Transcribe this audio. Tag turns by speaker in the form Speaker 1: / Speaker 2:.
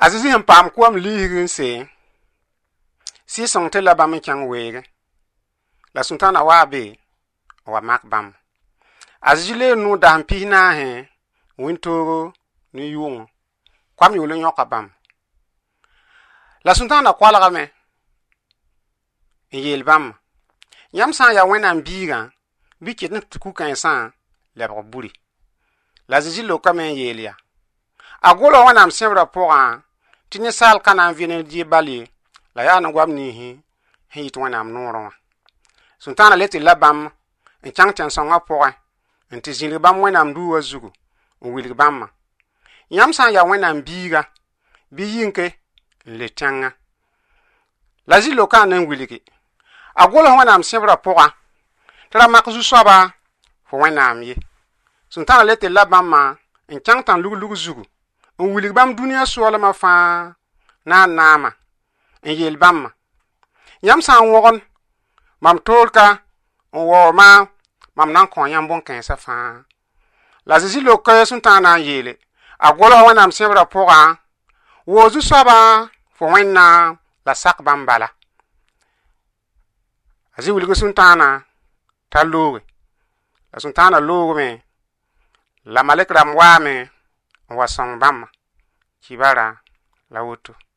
Speaker 1: Azizi hem pam kwam lihirin se. Si song te la bam kyang wege. La sultana wa be wa mak bam. Azizi le nu da pi na he wintoro ni yung. Kwam yule nyoka bam. La sultana kwalaga me. Yel bam. Yam san ya wena biga bi kit na ku kan san lebro buri. La Azizi lo ka men yelia. Agolo wana msembra poa tini sal kana vine di bali la ya na gwam ni hi to wana mnoro. Sultana leti labam en changchan songa poa en tizili bam wana mdu wazugu wili bam. Yam san ya wena biga bi yinke le tanga. La Azizi lo ka nan wiliki. Agolo wana msembra poa tra makzu soba fo wana amye. Sultana leti labam ma en changtan lugu zugu. Wilig bam dunia suwala ma fa na nama en yel bam yam san wogon mam tolka wo ma mam nan kon yam bon kan sa fa la Azizi lo ka sultana yele agolo wana am sebra poga wo zu saba fo wenna la sak bam bala Azizi wilig sultana talowe la sultana lowe me la malek ram wa me wa song bam kibara la wutu